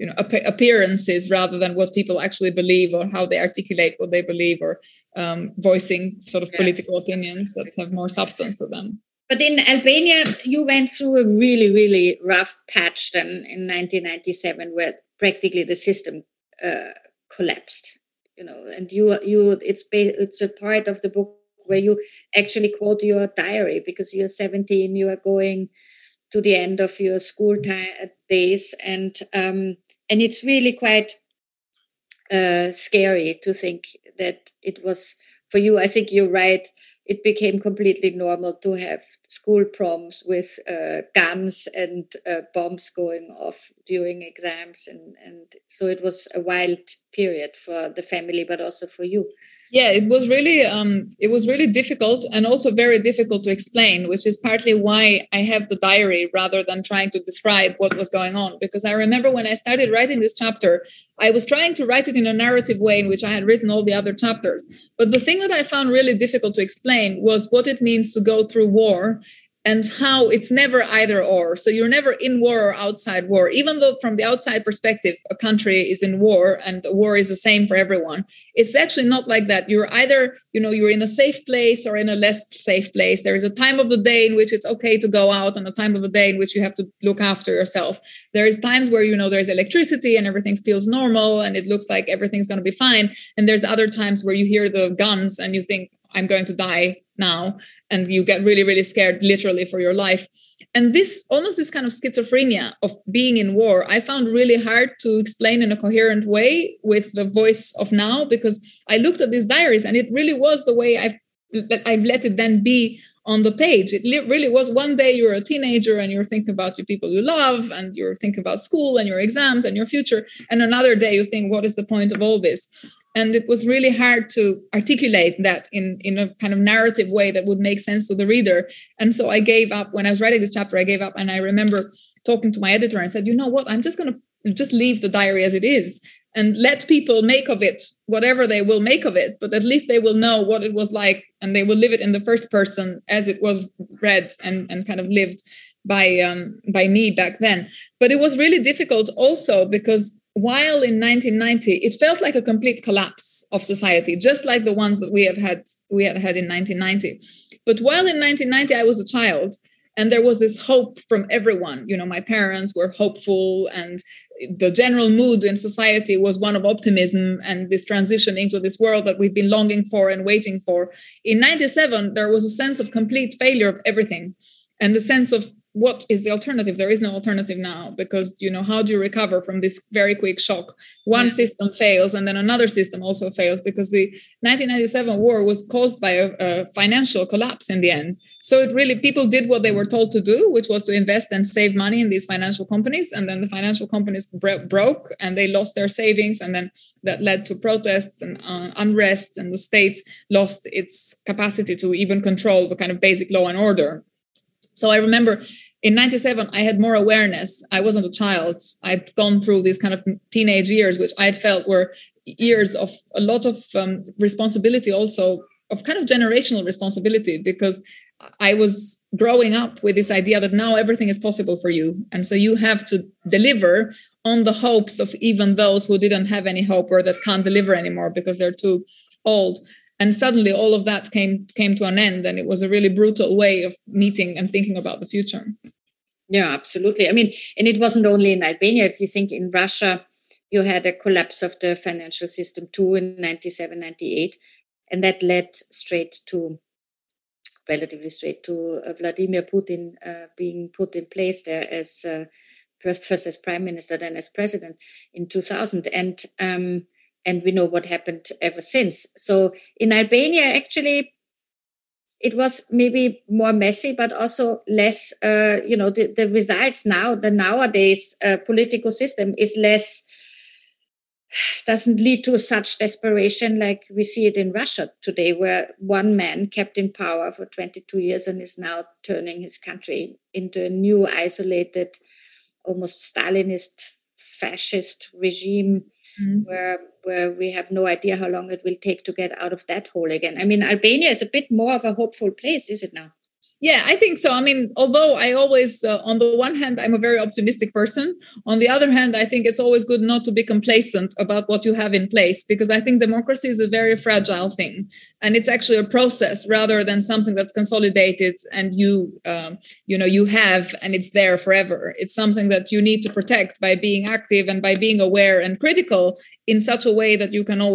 appearances rather than what people actually believe or how they articulate what they believe, or voicing sort of political opinions that have more substance to them. But in Albania, you went through a really, really rough patch then in 1997, where practically the system collapsed. And it's a part of the book where you actually quote your diary, because you're 17, you are going to the end of your school days, and it's really quite scary to think that it was for you, I think you're right. It became completely normal to have school proms with guns and bombs going off during exams. And so it was a wild period for the family, but also for you. Yeah, it was really difficult, and also very difficult to explain, which is partly why I have the diary rather than trying to describe what was going on. Because I remember when I started writing this chapter, I was trying to write it in a narrative way in which I had written all the other chapters. But the thing that I found really difficult to explain was what it means to go through war, and how it's never either or. So you're never in war or outside war, even though from the outside perspective, a country is in war and war is the same for everyone. It's actually not like that. You're either, you're in a safe place or in a less safe place. There is a time of the day in which it's okay to go out, and a time of the day in which you have to look after yourself. There is times where, there's electricity and everything feels normal and it looks like everything's going to be fine. And there's other times where you hear the guns and you think, I'm going to die now. And you get really, really scared, literally, for your life. And this kind of schizophrenia of being in war, I found really hard to explain in a coherent way with the voice of now, because I looked at these diaries and it really was the way I've let it then be on the page. It really was. One day you're a teenager and you're thinking about the people you love, and you're thinking about school and your exams and your future. And another day you think, what is the point of all this? And it was really hard to articulate that in a kind of narrative way that would make sense to the reader. And so I gave up. When I was writing this chapter, I gave up. And I remember talking to my editor and said, you know what, I'm just going to just leave the diary as it is and let people make of it whatever they will make of it. But at least they will know what it was like, and they will live it in the first person as it was read and kind of lived by me back then. But it was really difficult also because while in 1990, it felt like a complete collapse of society, just like the ones that we had had in 1990. But while in 1990, I was a child, and there was this hope from everyone. My parents were hopeful, and the general mood in society was one of optimism and this transition into this world that we've been longing for and waiting for. In 97, there was a sense of complete failure of everything, and the sense of, what is the alternative? There is no alternative now, because, how do you recover from this very quick shock? One system fails and then another system also fails, because the 1997 war was caused by a financial collapse in the end. So it really, people did what they were told to do, which was to invest and save money in these financial companies. And then the financial companies broke and they lost their savings. And then that led to protests and unrest, and the state lost its capacity to even control the kind of basic law and order. So I remember in 97, I had more awareness. I wasn't a child. I'd gone through these kind of teenage years, which I had felt were years of a lot of responsibility, also of kind of generational responsibility, because I was growing up with this idea that now everything is possible for you. And so you have to deliver on the hopes of even those who didn't have any hope or that can't deliver anymore because they're too old. And suddenly all of that came to an end, and it was a really brutal way of meeting and thinking about the future. Yeah, absolutely. I mean, and it wasn't only in Albania. If you think in Russia, you had a collapse of the financial system too in 97, 98. And that led relatively straight to Vladimir Putin being put in place there as first as prime minister, then as president in 2000. And we know what happened ever since. So in Albania, actually, it was maybe more messy, but also less, the results now, the nowadays political system is less, doesn't lead to such desperation like we see it in Russia today, where one man kept in power for 22 years and is now turning his country into a new, isolated, almost Stalinist, fascist regime, where we have no idea how long it will take to get out of that hole again. I mean, Albania is a bit more of a hopeful place, is it now? Yeah, I think so. I mean, although I always, on the one hand, I'm a very optimistic person. On the other hand, I think it's always good not to be complacent about what you have in place, because I think democracy is a very fragile thing. And it's actually a process rather than something that's consolidated and you have, and it's there forever. It's something that you need to protect by being active and by being aware and critical in such a way that you can always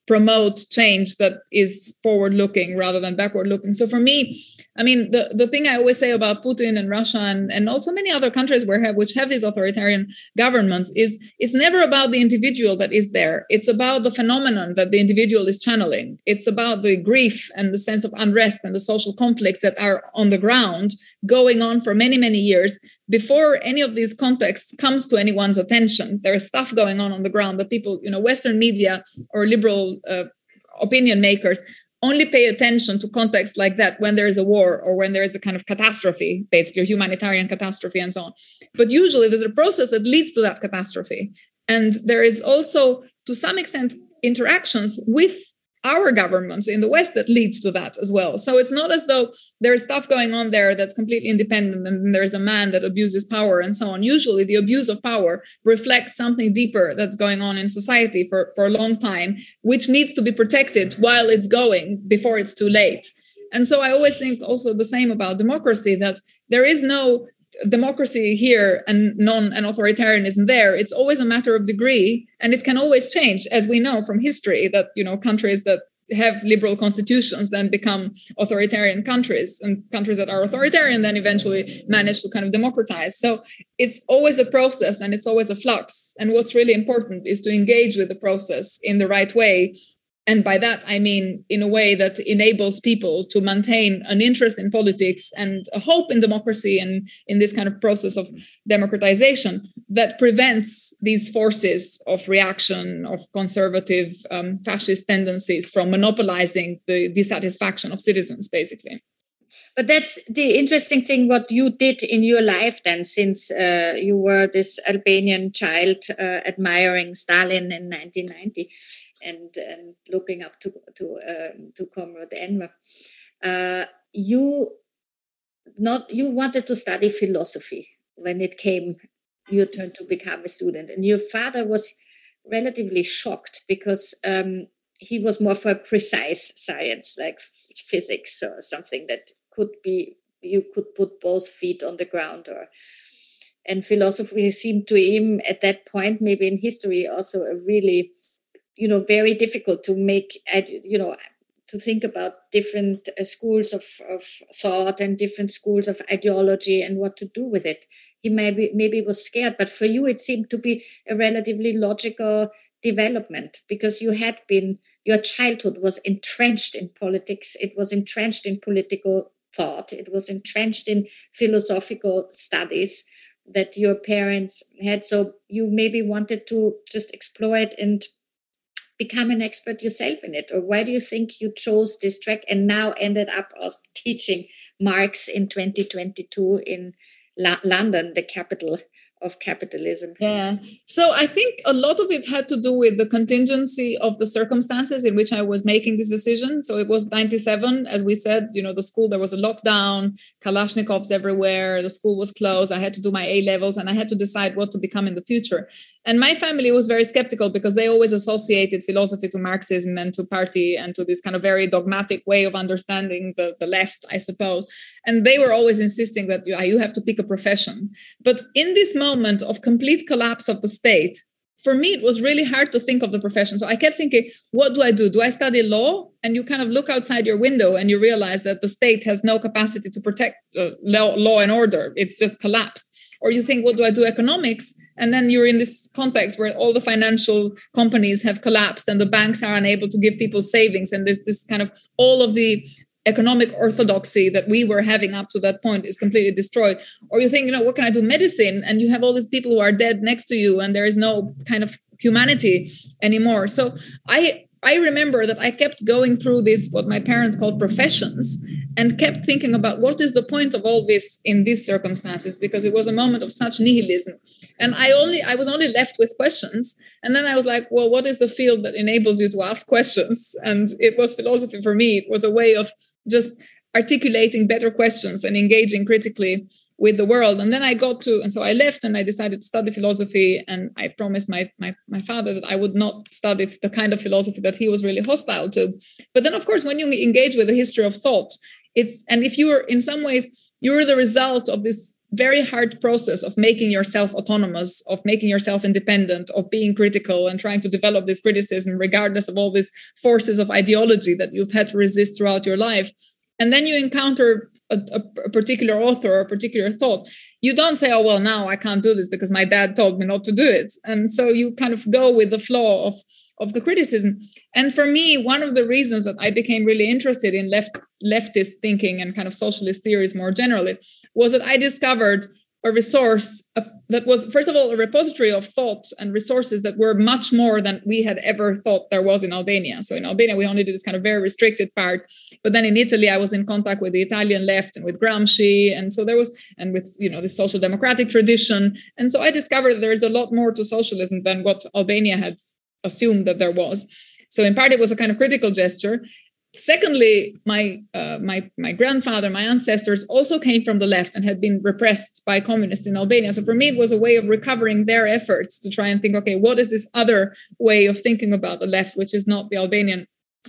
promote change that is forward-looking rather than backward-looking. So for me, I mean, the thing I always say about Putin and Russia and also many other countries which have these authoritarian governments is it's never about the individual that is there. It's about the phenomenon that the individual is channeling. It's about the grief and the sense of unrest and the social conflicts that are on the ground going on for many, many years before any of these contexts comes to anyone's attention. There is stuff going on the ground that people, Western media or liberal opinion makers only pay attention to contexts like that when there is a war or when there is a kind of catastrophe, basically a humanitarian catastrophe and so on. But usually there's a process that leads to that catastrophe. And there is also, to some extent, interactions with our governments in the West that leads to that as well. So it's not as though there's stuff going on there that's completely independent and there's a man that abuses power and so on. Usually the abuse of power reflects something deeper that's going on in society for a long time, which needs to be protected while it's going before it's too late. And so I always think also the same about democracy, that there is no democracy here and authoritarianism there. It's always a matter of degree, and it can always change, as we know from history that countries that have liberal constitutions then become authoritarian countries, and countries that are authoritarian then eventually manage to kind of democratize. So it's always a process and it's always a flux. And what's really important is to engage with the process in the right way. And by that, I mean, in a way that enables people to maintain an interest in politics and a hope in democracy and in this kind of process of democratization that prevents these forces of reaction, of conservative fascist tendencies from monopolizing the dissatisfaction of citizens, basically. But that's the interesting thing, what you did in your life then, since you were this Albanian child admiring Stalin in 1990. And looking up to Comrade Enver, you wanted to study philosophy when it came your turn to become a student, and your father was relatively shocked because he was more for precise science like physics or something that could be you could put both feet on the ground and philosophy seemed to him at that point, maybe in history, also a really very difficult to make, to think about different schools of thought and different schools of ideology and what to do with it. He maybe was scared, but for you, it seemed to be a relatively logical development because your childhood was entrenched in politics. It was entrenched in political thought. It was entrenched in philosophical studies that your parents had. So you maybe wanted to just explore it and become an expert yourself in it? Or why do you think you chose this track and now ended up as teaching Marx in 2022 in London, the capital of capitalism? Yeah. So I think a lot of it had to do with the contingency of the circumstances in which I was making this decision. So it was 97, as we said, the school, there was a lockdown, Kalashnikovs everywhere, the school was closed. I had to do my A-levels and I had to decide what to become in the future. And my family was very skeptical because they always associated philosophy to Marxism and to party and to this kind of very dogmatic way of understanding the left, I suppose. And they were always insisting that you have to pick a profession. But in this moment of complete collapse of the state, for me, it was really hard to think of the profession. So I kept thinking, what do I do? Do I study law? And you kind of look outside your window and you realize that the state has no capacity to protect law and order. It's just collapsed. Or you think, what do I do? Economics? And then you're in this context where all the financial companies have collapsed and the banks are unable to give people savings. And there's this kind of all of the economic orthodoxy that we were having up to that point is completely destroyed. Or you think, what can I do? Medicine. And you have all these people who are dead next to you and there is no kind of humanity anymore. So I remember that I kept going through this, what my parents called professions, and kept thinking about what is the point of all this in these circumstances, because it was a moment of such nihilism. And I was only left with questions. And then I was like, well, what is the field that enables you to ask questions? And it was philosophy for me. It was a way of just articulating better questions and engaging critically with the world. And then so I left and I decided to study philosophy. And I promised my father that I would not study the kind of philosophy that he was really hostile to. But then, of course, when you engage with the history of thought, and if you are in some ways, you're the result of this very hard process of making yourself autonomous, of making yourself independent, of being critical and trying to develop this criticism regardless of all these forces of ideology that you've had to resist throughout your life. And then you encounter a particular author or a particular thought. You don't say, oh, well, now I can't do this because my dad told me not to do it. And so you kind of go with the flow of the criticism. And for me, one of the reasons that I became really interested in leftist thinking and kind of socialist theories more generally was that I discovered a resource that was, first of all, a repository of thought and resources that were much more than we had ever thought there was in Albania. So in Albania, we only did this kind of very restricted part. But then in Italy, I was in contact with the Italian left and with Gramsci. And so there was, and with, the social democratic tradition. And so I discovered there is a lot more to socialism than what Albania had assumed that there was. So in part, it was a kind of critical gesture. Secondly, my grandfather, my ancestors also came from the left and had been repressed by communists in Albania. So for me, it was a way of recovering their efforts to try and think, okay, what is this other way of thinking about the left, which is not the Albanian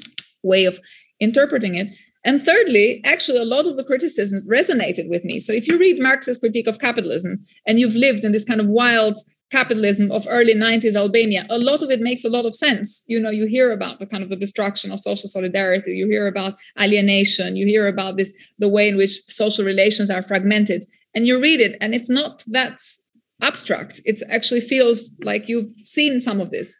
way of interpreting it? And thirdly, actually, a lot of the criticism resonated with me. So if you read Marx's Critique of Capitalism and you've lived in this kind of wild capitalism of early 90s Albania, a lot of it makes a lot of sense. You hear about the kind of the destruction of social solidarity. You hear about alienation. You hear about the way in which social relations are fragmented. And you read it, and it's not that abstract. It actually feels like you've seen some of this.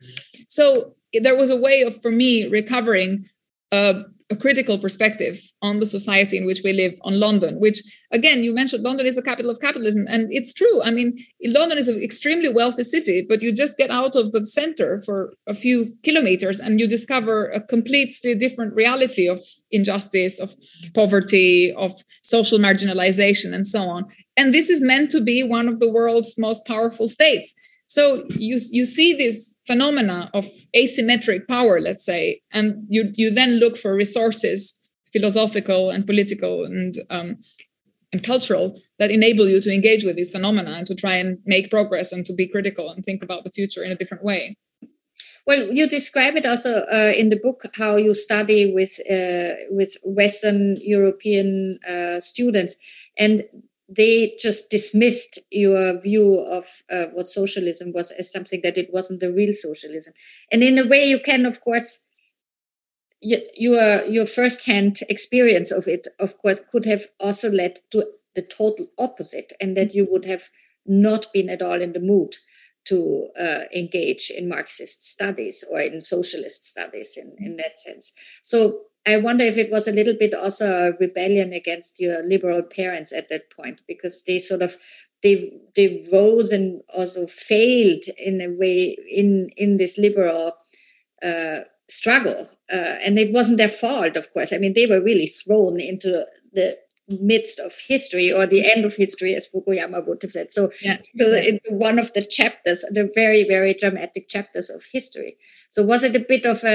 So there was a way of, for me, recovering a critical perspective on the society in which we live, on London, which, again, you mentioned London is the capital of capitalism. And it's true. I mean, London is an extremely wealthy city, but you just get out of the center for a few kilometers and you discover a completely different reality of injustice, of poverty, of social marginalization, and so on. And this is meant to be one of the world's most powerful states. So you see this phenomena of asymmetric power, let's say, and you then look for resources, philosophical and political and cultural, that enable you to engage with these phenomena and to try and make progress and to be critical and think about the future in a different way. Well, you describe it also in the book how you study with Western European students, and they just dismissed your view of what socialism was as something that it wasn't the real socialism. And in a way, you can, of course, your first-hand experience of it, of course, could have also led to the total opposite, and that you would have not been at all in the mood to engage in Marxist studies or in socialist studies in that sense. So I wonder if it was a little bit also a rebellion against your liberal parents at that point, because they sort of they rose and also failed in a way in this liberal struggle, and it wasn't their fault, of course. I mean, they were really thrown into the midst of history, or the end of history, as Fukuyama would have said. So, in one of the chapters, the very, very dramatic chapters of history. So was it a bit of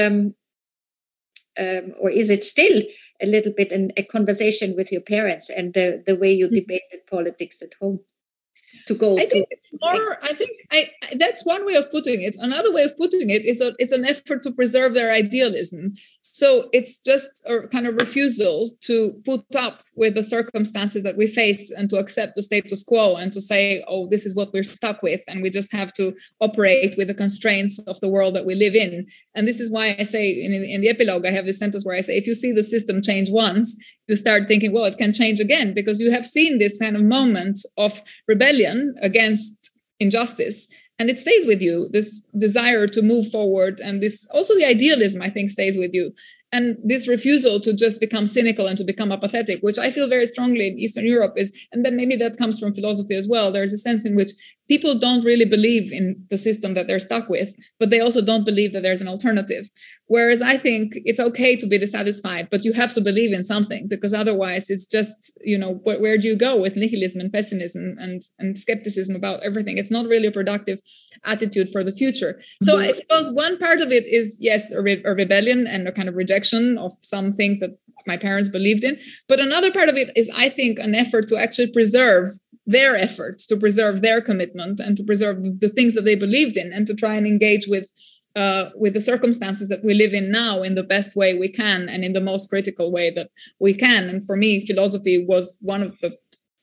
or is it still a little bit a conversation with your parents and the way you debated politics at home? I think it's more. I think that's one way of putting it. Another way of putting it is it's an effort to preserve their idealism. So it's just a kind of refusal to put up with the circumstances that we face and to accept the status quo and to say, oh, this is what we're stuck with, and we just have to operate with the constraints of the world that we live in. And this is why I say in the epilogue, I have this sentence where I say, if you see the system change once, you start thinking, well, it can change again, because you have seen this kind of moment of rebellion against injustice, and it stays with you, this desire to move forward, and this also the idealism, I think, stays with you. And this refusal to just become cynical and to become apathetic, which I feel very strongly in Eastern Europe is, and then maybe that comes from philosophy as well. There's a sense in which people don't really believe in the system that they're stuck with, but they also don't believe that there's an alternative. Whereas I think it's okay to be dissatisfied, but you have to believe in something, because otherwise it's just, where do you go with nihilism and pessimism and skepticism about everything? It's not really a productive attitude for the future. So I suppose one part of it is, yes, a rebellion and a kind of rejection of some things that my parents believed in. But another part of it is, I think, an effort to actually preserve their efforts, to preserve their commitment, and to preserve the things that they believed in, and to try and engage with the circumstances that we live in now in the best way we can and in the most critical way that we can. And for me, philosophy was one of the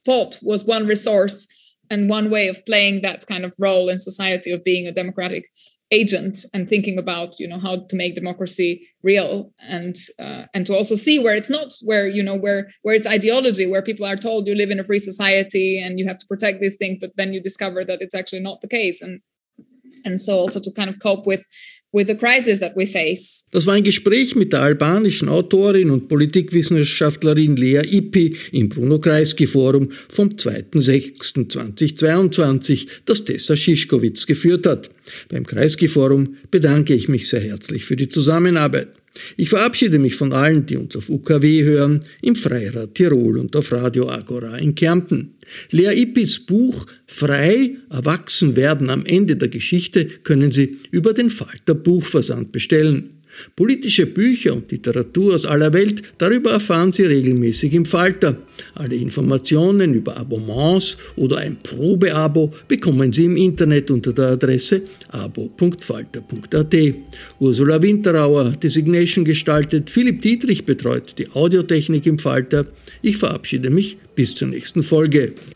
thought was one resource and one way of playing that kind of role in society of being a democratic agent and thinking about, how to make democracy real and to also see where it's not, where it's ideology, where people are told you live in a free society and you have to protect these things, but then you discover that it's actually not the case. And so also to kind of cope with the crisis that we face. Das war ein Gespräch mit der albanischen Autorin und Politikwissenschaftlerin Lea Ypi im Bruno Kreisky Forum vom 2.6.2022, das Tessa Szyszkowitz geführt hat. Beim Kreisky Forum bedanke ich mich sehr herzlich für die Zusammenarbeit. Ich verabschiede mich von allen, die uns auf UKW hören, im Freirad Tirol und auf Radio Agora in Kärnten. Lea Ypis Buch Frei, erwachsen werden am Ende der Geschichte können Sie über den Falter Buchversand bestellen. Politische Bücher und Literatur aus aller Welt, darüber erfahren Sie regelmäßig im Falter. Alle Informationen über Abonnements oder ein Probeabo bekommen Sie im Internet unter der Adresse abo.falter.at. Ursula Winterauer hat die Signation gestaltet, Philipp Dietrich betreut die Audiotechnik im Falter. Ich verabschiede mich bis zur nächsten Folge.